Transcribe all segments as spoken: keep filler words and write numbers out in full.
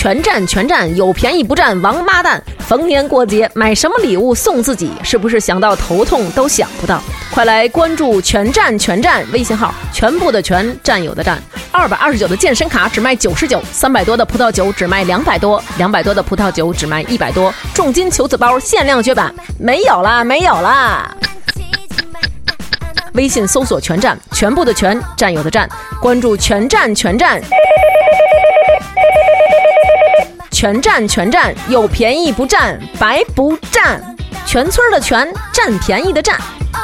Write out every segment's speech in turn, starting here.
全占全占，有便宜不占王八蛋。逢年过节买什么礼物送自己，是不是想到头痛都想不到？快来关注全占全占微信号，全部的全，占有的占。二百二十九的健身卡只卖九十九，三百多的葡萄酒只卖两百多，两百多的葡萄酒只卖一百多。重金求子包限量绝版，没有啦，没有啦。微信搜索全占，全部的全，占有的占，关注全占全占。全占全占，有便宜不占白不占，全村的全，占便宜的占。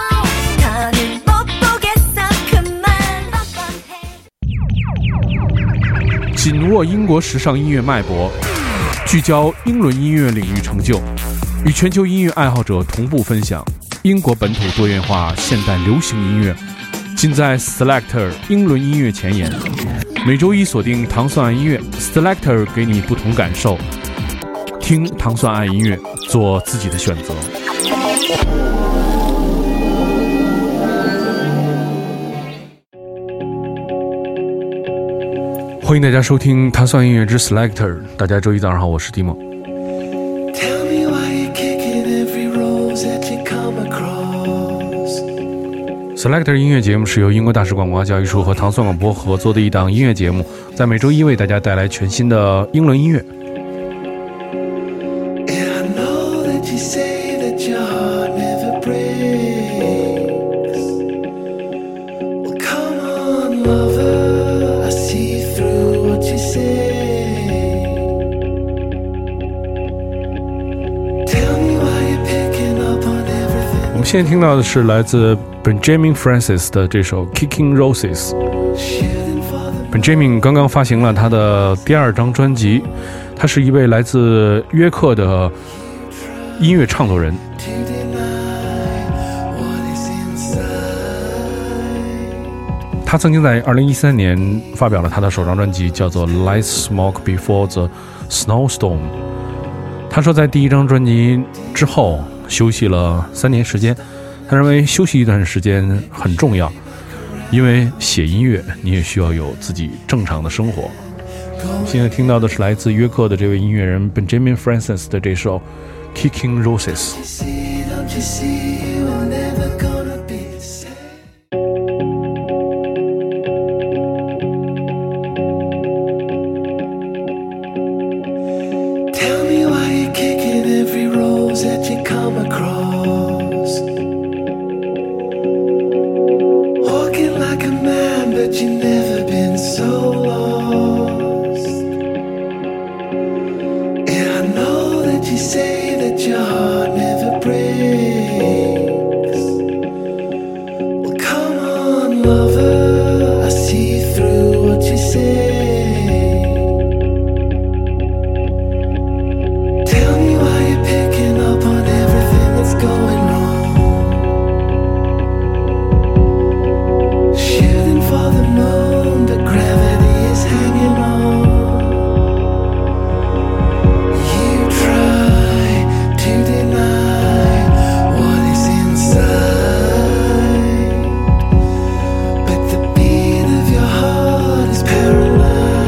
紧握英国时尚音乐脉搏，聚焦英伦音乐领域成就，与全球音乐爱好者同步分享英国本土多元化现代流行音乐，尽在 Selector 英伦音乐前沿。每周一锁定糖蒜爱音乐 Selector， 给你不同感受，听糖蒜爱音乐，做自己的选择。欢迎大家收听糖蒜音乐之 Selector， 大家周一早上好，我是蒂莫。Selector 音乐节目是由英国大使广播教育处和糖蒜广播合作的一档音乐节目，在每周一为大家带来全新的英伦音乐。我们现在听到的是来自 Benjamin Francis 的这首 Kicking Roses。 Benjamin 刚刚发行了他的第二张专辑，他是一位来自约克的音乐创作人。他曾经在二零一三年发表了他的首张专辑，叫做 Light Smoke Before the Snowstorm。 他说在第一张专辑之后休息了三年时间，他认为休息一段时间很重要，因为写音乐你也需要有自己正常的生活。现在听到的是来自约克的这位音乐人 Benjamin Francis 的这首 Kicking Roses。 Paralyzed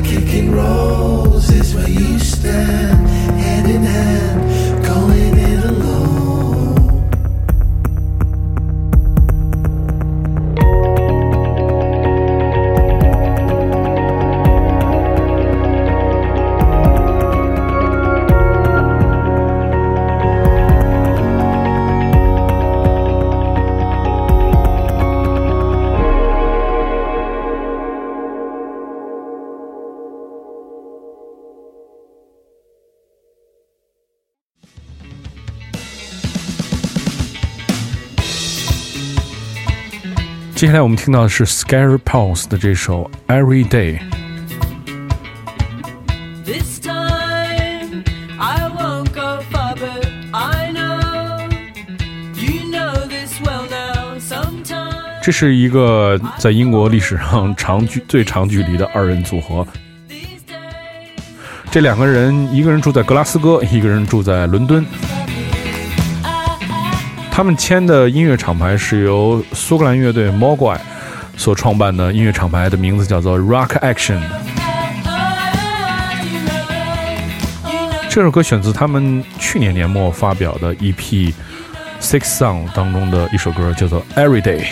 接下来我们听到的是 Scary Pulse 的这首 Every Day。 This time I won't go far, but I know you know this well now. Sometimes 这是一个在英国历史上长距最长距离的二人组合。这两个人，一个人住在格拉斯哥，一个人住在伦敦。他们签的音乐厂牌是由苏格兰乐队 Mogwai 所创办的，音乐厂牌的名字叫做 Rock Action。 这首歌选自他们去年年末发表的 E P Six Song 当中的一首歌，叫做 Every Day。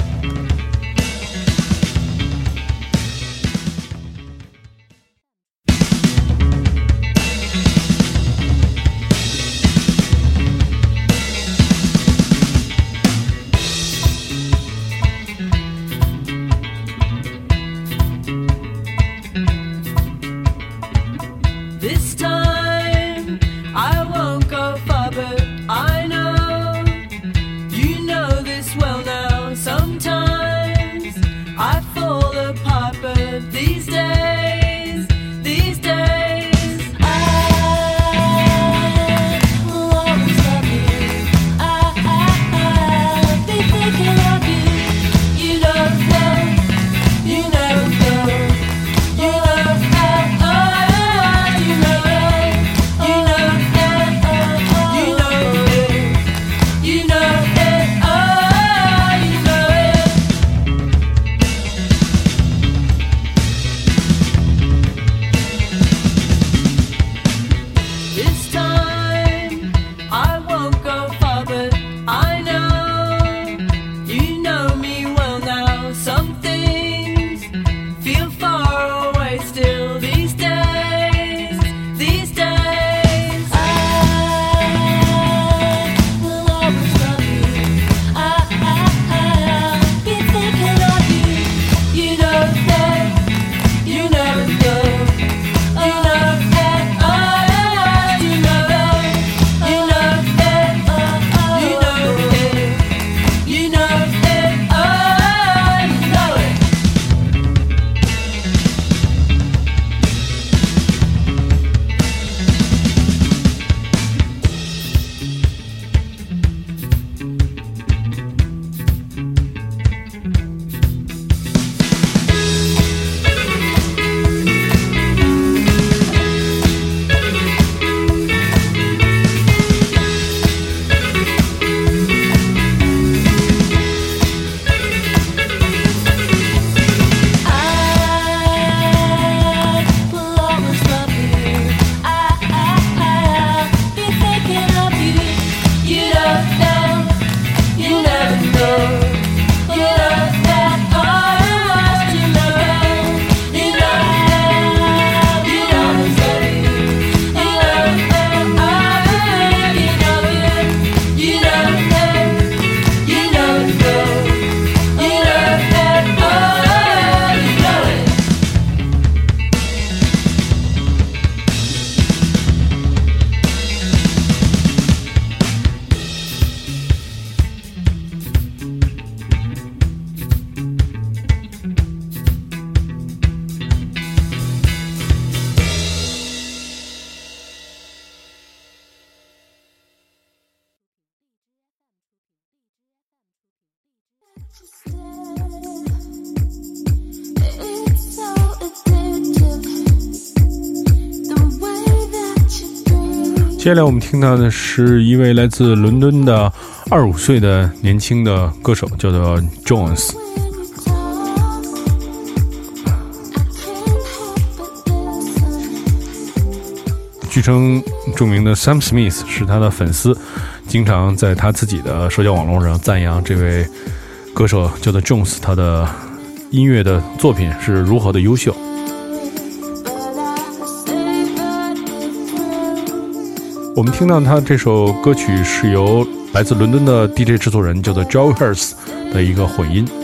This time I won't go far, but I know you know this well now. Sometimes I fall apart, but these days, these days I will always love you. I, I, I'll be thinking of you. You don't know, you never know, you love that. It's so addictive, the way that you breathe. 接下来我们听到的是一位来自伦敦的二十五岁的年轻的歌手，叫做 Jones。 When you talk, I can't help but 据称，著名的 Sam Smith 是他的粉丝，经常在他自己的社交网络上赞扬这位歌手叫做 Jones， 他的音乐的作品是如何的优秀。我们听到他这首歌曲是由来自伦敦的 D J 制作人叫做 Joe Hurst 的一个混音。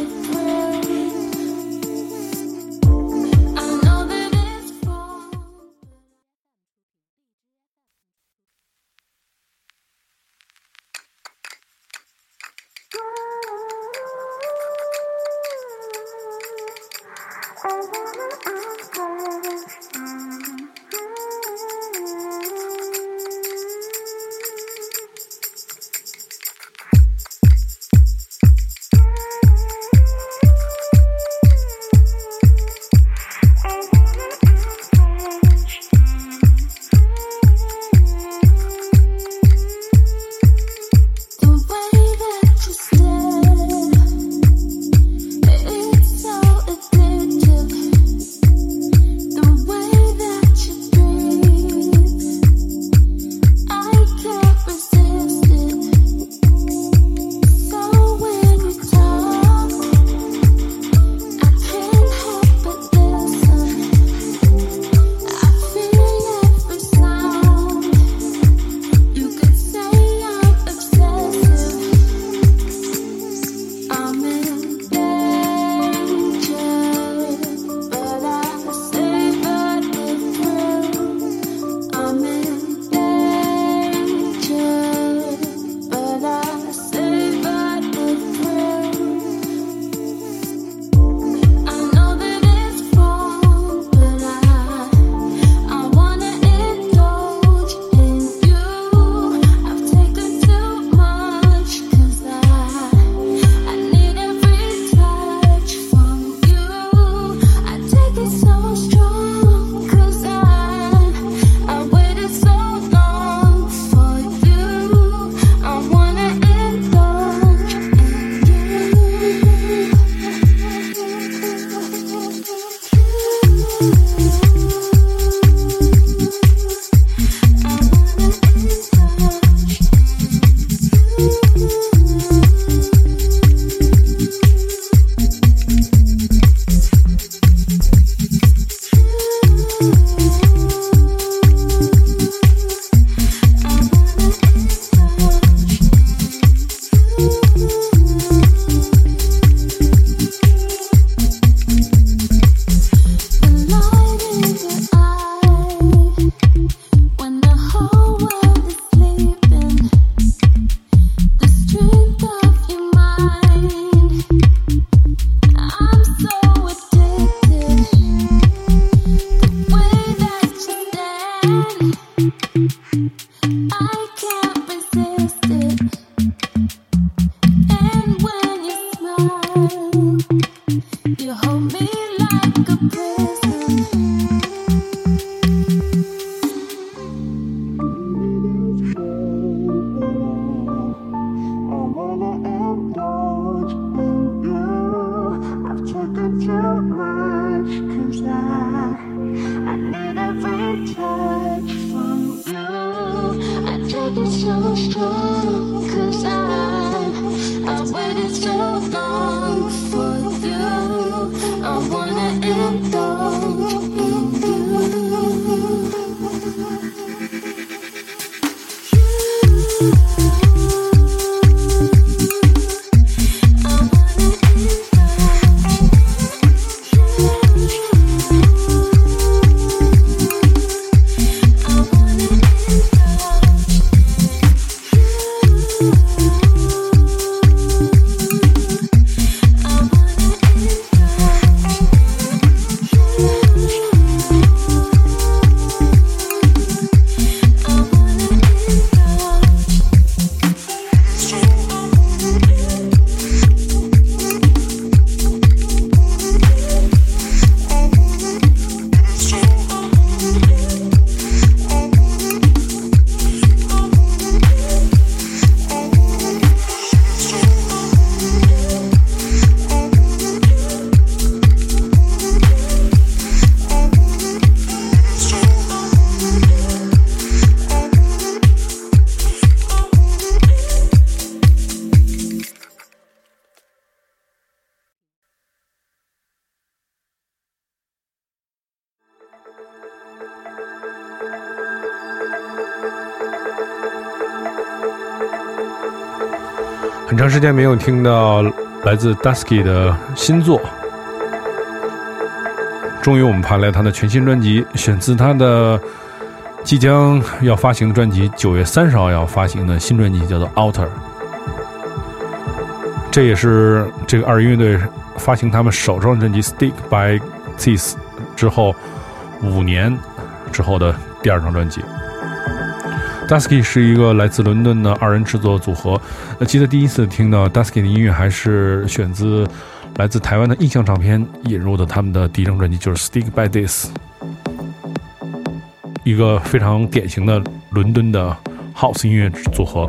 很长时间没有听到来自 Dusky 的新作，终于我们盘来他的全新专辑，选自他的即将要发行的专辑，九月三十号要发行的新专辑叫做 Outer。 这也是这个二人乐队发行他们首张专辑 Stick by This 之后五年之后的第二张专辑。Dusky 是一个来自伦敦的二人制作组合。呃，记得第一次听到 Dusky 的音乐还是选自来自台湾的印象唱片引入的他们的第一张专辑，就是 Stick by This， 一个非常典型的伦敦的 House 音乐组合。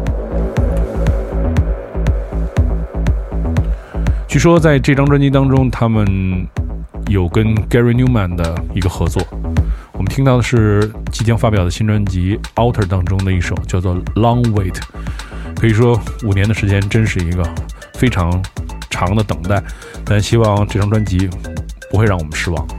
据说在这张专辑当中，他们有跟 Gary Newman 的一个合作。我们听到的是即将发表的新专辑 Outer 当中的一首叫做 Long Wait。 可以说五年的时间真是一个非常长的等待，但希望这张专辑不会让我们失望。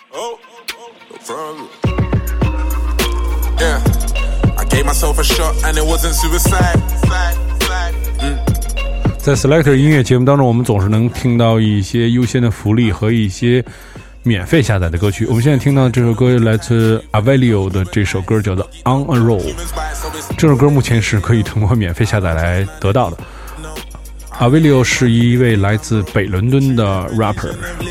Oh, no problem. Yeah, I gave myself a shot and it wasn't suicide. Mm. 在 Selector 音乐节目当中，我们总是能听到一些优先的福利和一些免费下载的歌曲。我们现在听到这首歌来自 Avelio 的这首歌叫做 On a Roll， 这首歌目前是可以通过免费下载来得到的。Avelio 是一位来自北伦敦的 rapper。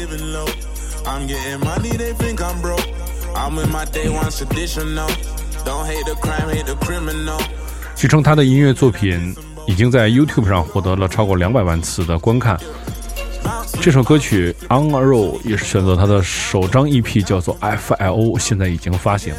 据称他的音乐作品已经在 YouTube 上获得了超过两百万次的观看。这首歌曲 On a Roll 也是选择他的首张 E P 叫做 F L O， 现在已经发行。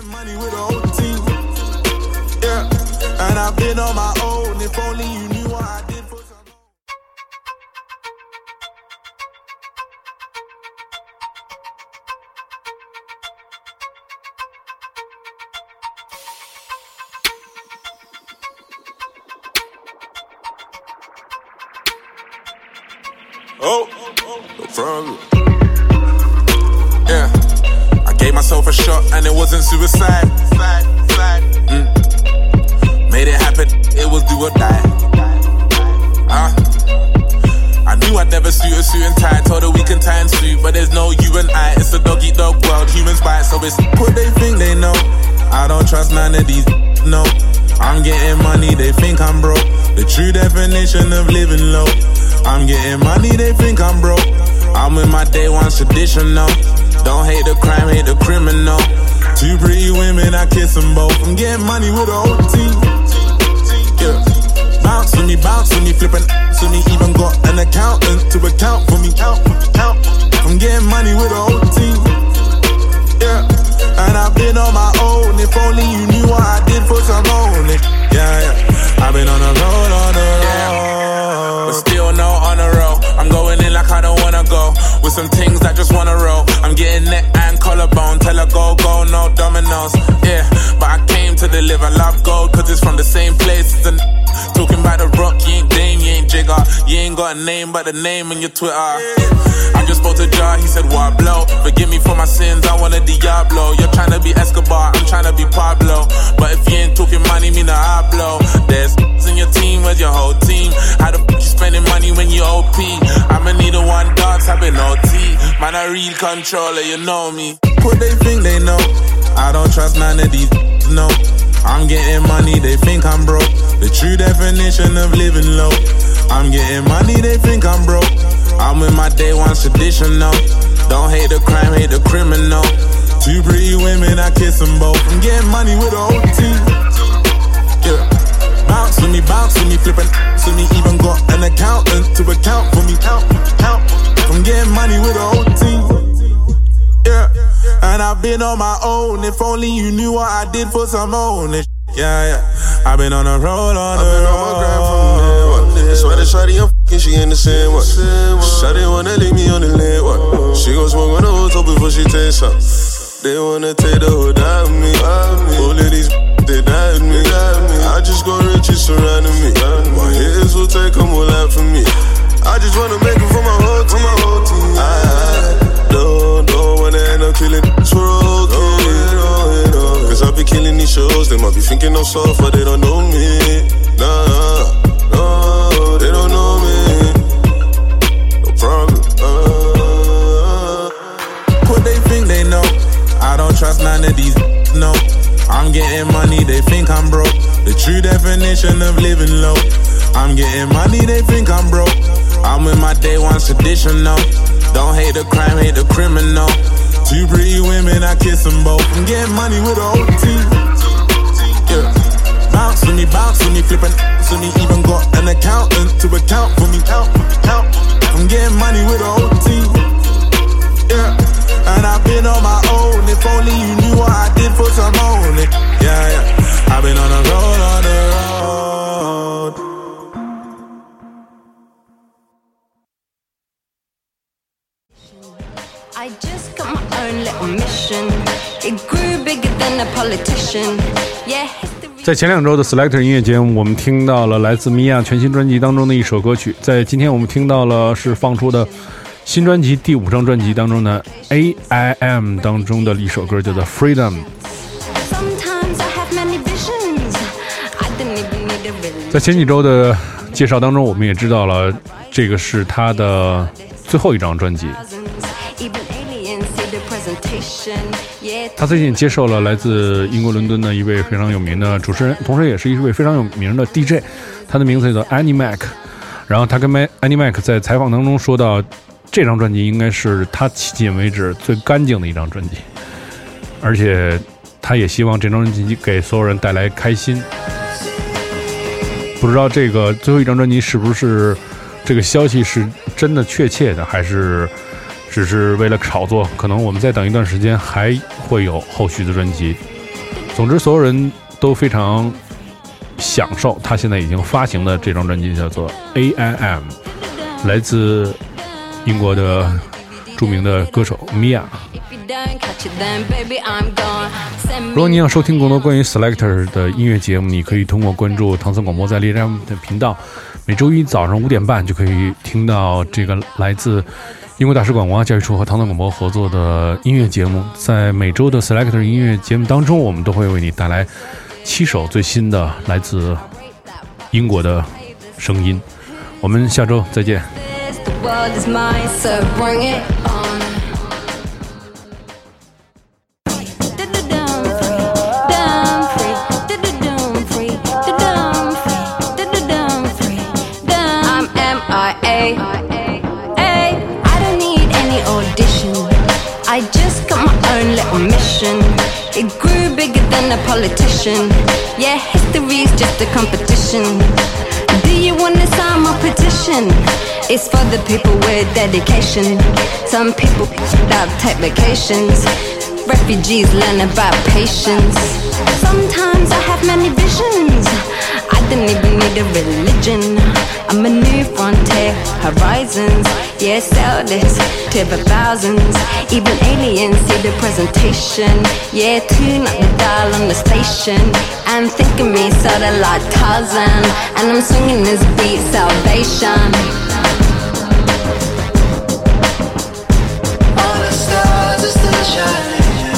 Oh, no problem. Yeah, I gave myself a shot and it wasn't suicide. Mm. Made it happen, it was do or die. Uh, I knew I'd never suit a suit and tie. Told her we can tie and suit, but there's no you and I. It's a dog eat dog world, humans bite, so it's what they think they know. I don't trust none of these, no. I'm getting money, they think I'm broke. The true definition of living low. I'm getting money, they think I'm broke. I'm with my day one traditional. Don't hate the crime, hate the criminal. Two pretty women, I kiss them both. I'm getting money with the whole team. Yeah. Bounce with me, bounce with me, flipping to me. Even got an accountant to account for me. Count, count. I'm getting money with the whole team. Yeah. And I've been on my own. If only you knew what I did for some money. Yeah, yeah. I've been on the road, on the road. Yeah. But still no on the road. I'm going in like I don't wanna go. With some things I just wanna roll. I'm getting neck and collarbone. Tell her go, go, no dominoes. Yeah, but I came to deliver love gold. Cause it's from the same place as the talking about the rock, you ain't Dame, you ain't Jigger. You ain't got a name but the name on your Twitter. I just spoke to Jar, he said what blow. Forgive me for my sins, I want a Diablo. You're trying to be Escobar, I'm trying to be Pablo. But if you ain't talking money, me nah hablo. There's in your team, where's your whole team? How the f*** you spending money when you O P? I'ma need a one dance, I've been O T. Man, a real controller, you know me. What they think they know? I don't trust none of these, no. I'm getting money, they think I'm broke. The true definition of living low. I'm getting money, they think I'm broke. I'm with my day one traditional. Don't hate the crime, hate the criminal. Two pretty women, I kiss them both. I'm getting money with the whole team. Yeah. Bounce with me, bounce with me, flipping to me. Even got an accountant to account for me. Count, count. I'm getting money with the whole team. Yeah. And I've been on my own. If only you knew what I did for some own. Yeah, yeah. I've been on the road, on the I've been road. on my grind from day one. That's why the shawty I'm f***ing, she in the same one. Shawty wanna leave me on the lane one. She gon' smoke on the whole top before she takes some. They wanna take the whole out of me. All of these they died me. I just got riches surrounding me. My haters will take them all out from me. I just wanna make it for my whole team. My whole team. I, I don't, don't wanna end up killing this for okay. Cause I be killing these shows. They might be thinking I'm soft, but they don't know me. Nah, no, they don't know me. No problem. Uh, What they think they know? I don't trust none of these, no. I'm getting money, they think I'm broke. The true definition of living low. I'm getting money, they think I'm broke. I'm with my day one traditional. Don't hate the crime, hate the criminal. Two pretty women, I kiss them both. I'm getting money with the whole team. Yeah. Bounce with me, bounce with me, flipping to me. Even got an accountant to account for me. Count, count. I'm getting money with the whole team. Yeah. And I've been on my own. If only you knew what I did for some money. Yeah, yeah. I've been on the road, on the road. I just got my own little mission. It grew bigger than a politician. Yeah, history. 在前两周的 Selector 音乐节目，我们听到了来自米娅全新专辑当中的一首歌曲。在今天我们听到了是放出的新专辑第五张专辑当中呢 A I M 当中的一首歌叫做 Freedom。 在前几周的介绍当中，我们也知道了这个是他的最后一张专辑。他最近接受了来自英国伦敦的一位非常有名的主持人，同时也是一位非常有名的 D J， 他的名字叫 Annie Mac。 然后他跟 Annie Mac 在采访当中说到，这张专辑应该是他迄今为止最干净的一张专辑，而且他也希望这张专辑给所有人带来开心。不知道这个最后一张专辑是不是这个消息是真的确切的，还是只是为了炒作，可能我们再等一段时间还会有后续的专辑。总之所有人都非常享受他现在已经发行的这张专辑，叫做 A I M， 来自英国的著名的歌手 Mia。 如果你想收听更多关于 Selector 的音乐节目，你可以通过关注唐僧广播在荔枝 F M 的频道，每周一早上五点半就可以听到这个来自英国大使馆文化教育处和唐僧广播合作的音乐节目。在每周的 Selector 音乐节目当中，我们都会为你带来七首最新的来自英国的声音。我们下周再见。 I just got my own little mission. It grew bigger than a politician. Yeah, history's just a competition. Do you wanna sign my petition? It's for the people with dedication. Some people that take vacations. Refugees learn about patience. Sometimes I have many visions. I don't even need a religion. I'm a new frontier, horizons. Yeah, sell this to the thousands. Even aliens see the presentation. Yeah, tune up the dial on the station. And think of me sorta like Tarzan. And I'm swinging this beat, salvation. All the stars are still shining.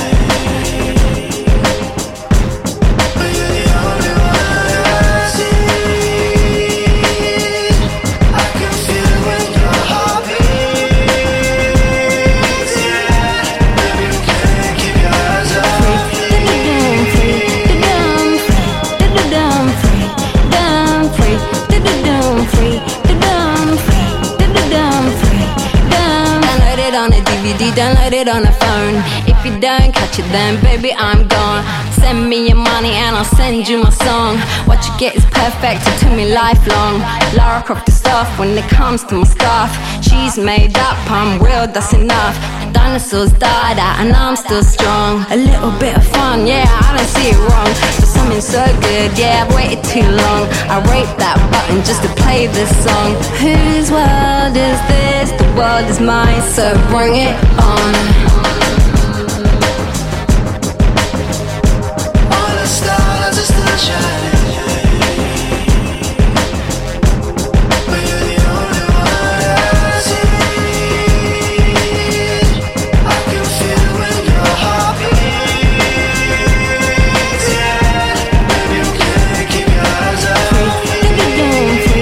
Download it on a phone. If you don't catch it then baby I'm gone. Send me your money and I'll send you my song. What you get is perfect, it took me lifelong. Lara Croft the stuff when it comes to my stuff. She's made up, I'm real, that's enough. Dinosaurs died out and I'm still strong. A little bit of fun, yeah, I don't see it wrong. For something so good, yeah, I've waited too long. I rate that button just to play this song. Whose world is this? The world is mine, so bring it on. All the stars are still shining. But you're the only one I see. I can feel when your heart beats. Yeah, baby, you can't keep your eyes off me.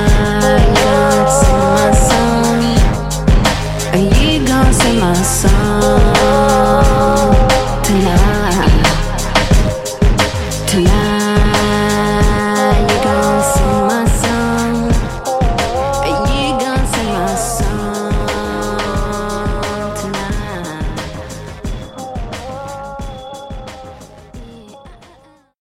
Are you gonna sing my song?